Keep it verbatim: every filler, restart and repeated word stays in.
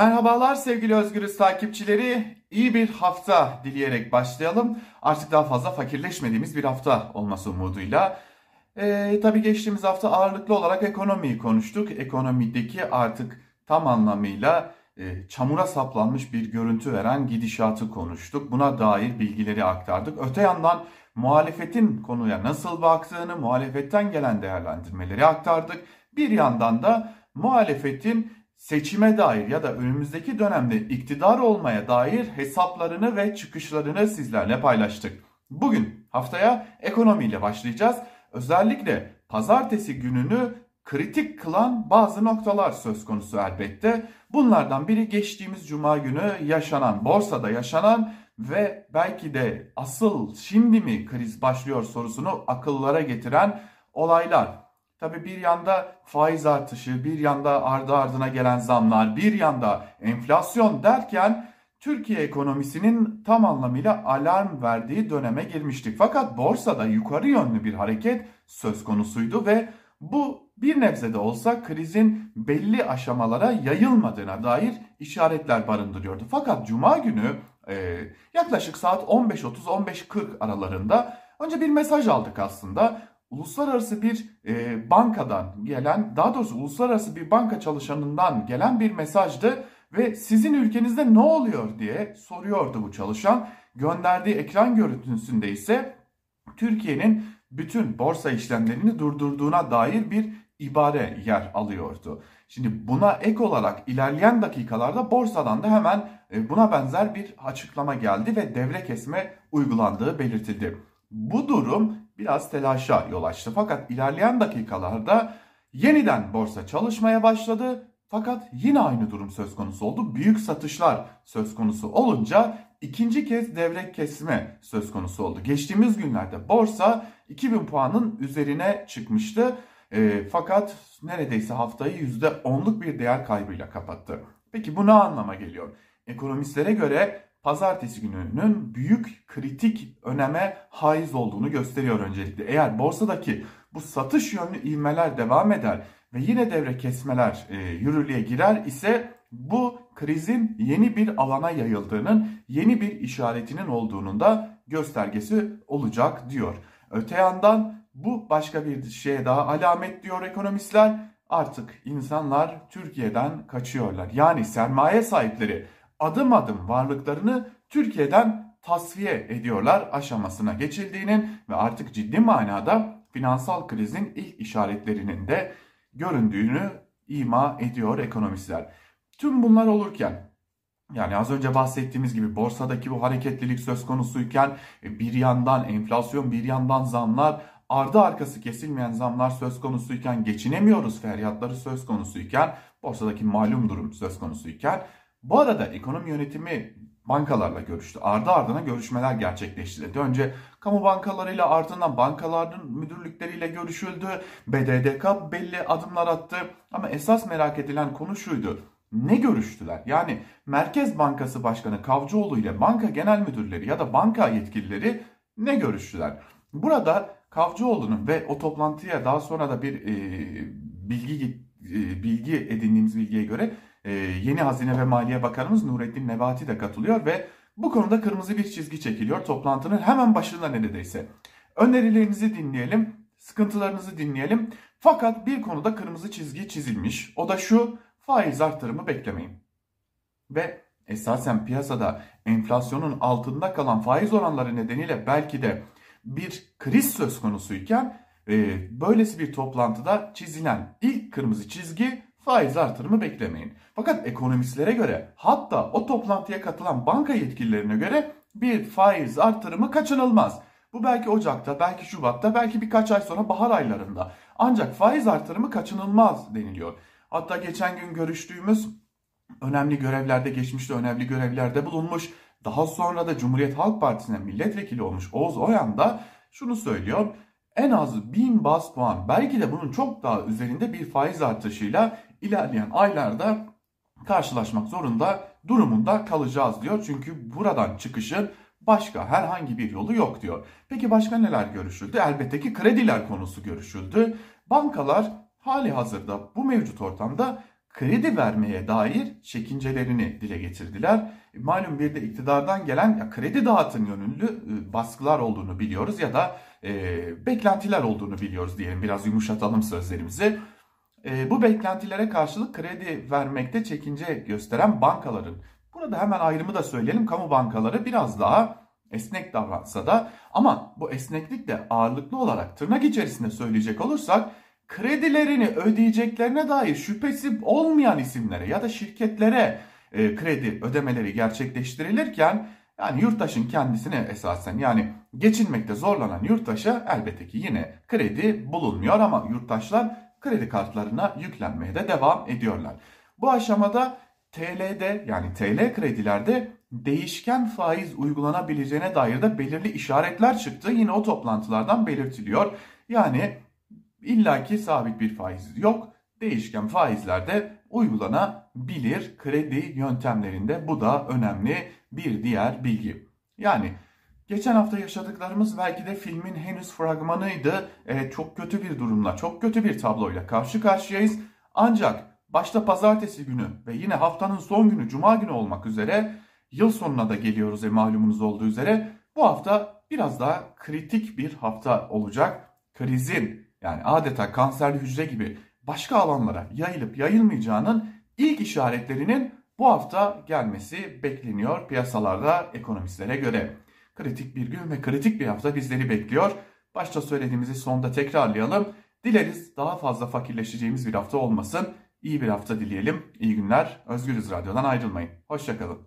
Merhabalar sevgili Özgürüz takipçileri. İyi bir hafta dileyerek başlayalım. Artık daha fazla fakirleşmediğimiz bir hafta olması umuduyla. Ee, tabii geçtiğimiz hafta ağırlıklı olarak ekonomiyi konuştuk. Ekonomideki artık tam anlamıyla e, çamura saplanmış bir görüntü veren gidişatı konuştuk. Buna dair bilgileri aktardık. Öte yandan muhalefetin konuya nasıl baktığını, muhalefetten gelen değerlendirmeleri aktardık. Bir yandan da muhalefetin seçime dair ya da önümüzdeki dönemde iktidar olmaya dair hesaplarını ve çıkışlarını sizlerle paylaştık. Bugün haftaya ekonomiyle başlayacağız. Özellikle pazartesi gününü kritik kılan bazı noktalar söz konusu elbette. Bunlardan biri geçtiğimiz cuma günü yaşanan, borsada yaşanan ve belki de asıl şimdi mi kriz başlıyor sorusunu akıllara getiren olaylar. Tabii bir yanda faiz artışı, bir yanda ardı ardına gelen zamlar, bir yanda enflasyon derken Türkiye ekonomisinin tam anlamıyla alarm verdiği döneme girmiştik. Fakat borsada yukarı yönlü bir hareket söz konusuydu ve bu bir nebze de olsa krizin belli aşamalara yayılmadığına dair işaretler barındırıyordu. Fakat cuma günü e, yaklaşık saat on beş otuz on beş kırk aralarında önce bir mesaj aldık aslında. Uluslararası bir e, bankadan gelen, daha doğrusu uluslararası bir banka çalışanından gelen bir mesajdı ve sizin ülkenizde ne oluyor diye soruyordu bu çalışan. Gönderdiği ekran görüntüsünde ise Türkiye'nin bütün borsa işlemlerini durdurduğuna dair bir ibare yer alıyordu. Şimdi buna ek olarak ilerleyen dakikalarda borsadan da hemen buna benzer bir açıklama geldi ve devre kesme uygulandığı belirtildi. Bu durum biraz telaşa yol açtı. Fakat ilerleyen dakikalarda yeniden borsa çalışmaya başladı. Fakat yine aynı durum söz konusu oldu. Büyük satışlar söz konusu olunca ikinci kez devre kesme söz konusu oldu. Geçtiğimiz günlerde borsa iki bin puanın üzerine çıkmıştı. E, fakat neredeyse haftayı yüzde onluk bir değer kaybıyla kapattı. Peki bu ne anlama geliyor? Ekonomistlere göre pazartesi gününün büyük kritik öneme haiz olduğunu gösteriyor öncelikle. Eğer borsadaki bu satış yönlü ivmeler devam eder ve yine devre kesmeler e, yürürlüğe girer ise bu krizin yeni bir alana yayıldığının, yeni bir işaretinin olduğunun da göstergesi olacak diyor. Öte yandan bu başka bir şeye daha alamet diyor ekonomistler. Artık insanlar Türkiye'den kaçıyorlar. Yani sermaye sahipleri adım adım varlıklarını Türkiye'den tasfiye ediyorlar aşamasına geçildiğinin ve artık ciddi manada finansal krizin ilk işaretlerinin de göründüğünü ima ediyor ekonomistler. Tüm bunlar olurken, yani az önce bahsettiğimiz gibi borsadaki bu hareketlilik söz konusuyken bir yandan enflasyon, bir yandan zamlar, ardı arkası kesilmeyen zamlar söz konusuyken, geçinemiyoruz feryatları söz konusuyken, borsadaki malum durum söz konusuyken, bu arada ekonomi yönetimi bankalarla görüştü. Ardı ardına görüşmeler gerçekleştirildi. Önce kamu bankalarıyla, ardından bankaların müdürlükleriyle görüşüldü. B D D K belli adımlar attı. Ama esas merak edilen konu şuydu. Ne görüştüler? Yani Merkez Bankası Başkanı Kavcıoğlu ile banka genel müdürleri ya da banka yetkilileri ne görüştüler? Burada Kavcıoğlu'nun ve o toplantıya daha sonra da bir e, bilgi e, bilgi edindiğimiz bilgiye göre e, yeni Hazine ve Maliye Bakanımız Nurettin Nebati de katılıyor ve bu konuda kırmızı bir çizgi çekiliyor toplantının hemen başında neredeyse. Önerilerinizi dinleyelim, sıkıntılarınızı dinleyelim. Fakat bir konuda kırmızı çizgi çizilmiş. O da şu: faiz artırımı beklemeyin. Ve esasen piyasada enflasyonun altında kalan faiz oranları nedeniyle belki de bir kriz söz konusuyken e, böylesi bir toplantıda çizilen ilk kırmızı çizgi faiz artırımı beklemeyin. Fakat ekonomistlere göre, hatta o toplantıya katılan banka yetkililerine göre bir faiz artırımı kaçınılmaz. Bu belki Ocak'ta, belki Şubat'ta, belki birkaç ay sonra bahar aylarında. Ancak faiz artırımı kaçınılmaz deniliyor. Hatta geçen gün görüştüğümüz önemli görevlerde, geçmişte önemli görevlerde bulunmuş, daha sonra da Cumhuriyet Halk Partisi'ne milletvekili olmuş Oğuz Oyan da şunu söylüyor: en az bin baz puan, belki de bunun çok daha üzerinde bir faiz artışıyla ilerleyen aylarda karşılaşmak zorunda durumunda kalacağız diyor. Çünkü buradan çıkışın başka herhangi bir yolu yok diyor. Peki başka neler görüşüldü? Elbette ki krediler konusu görüşüldü. Bankalar hali hazırda bu mevcut ortamda kredi vermeye dair çekincelerini dile getirdiler. Malum bir de iktidardan gelen ya, kredi dağıtın yönlü e, baskılar olduğunu biliyoruz ya da e, beklentiler olduğunu biliyoruz diyelim, biraz yumuşatalım sözlerimizi. E, bu beklentilere karşılık kredi vermekte çekince gösteren bankaların, burada hemen ayrımı da söyleyelim, kamu bankaları biraz daha esnek davransa da, ama bu esneklik de ağırlıklı olarak tırnak içerisinde söyleyecek olursak kredilerini ödeyeceklerine dair şüphesi olmayan isimlere ya da şirketlere e, kredi ödemeleri gerçekleştirilirken, yani yurttaşın kendisine esasen, yani geçinmekte zorlanan yurttaşa elbette ki yine kredi bulunmuyor ama yurttaşlar kredi kartlarına yüklenmeye de devam ediyorlar. Bu aşamada T L'de, yani T L kredilerde değişken faiz uygulanabileceğine dair de belirli işaretler çıktı. Yine o toplantılardan belirtiliyor. Yani illaki sabit bir faiz yok. Değişken faizlerde uygulanabilir kredi yöntemlerinde. Bu da önemli bir diğer bilgi. Yani geçen hafta yaşadıklarımız belki de filmin henüz fragmanıydı. Evet, çok kötü bir durumla, çok kötü bir tabloyla karşı karşıyayız. Ancak başta pazartesi günü ve yine haftanın son günü cuma günü olmak üzere yıl sonuna da geliyoruz, e, malumunuz olduğu üzere. Bu hafta biraz daha kritik bir hafta olacak. Krizin, yani adeta kanserli hücre gibi başka alanlara yayılıp yayılmayacağının ilk işaretlerinin bu hafta gelmesi bekleniyor piyasalarda ekonomistlere göre. Kritik bir gün ve kritik bir hafta bizleri bekliyor. Başta söylediğimizi sonda tekrarlayalım. Dileriz daha fazla fakirleşeceğimiz bir hafta olmasın. İyi bir hafta dileyelim. İyi günler. Özgürüz Radyo'dan ayrılmayın. Hoşça kalın.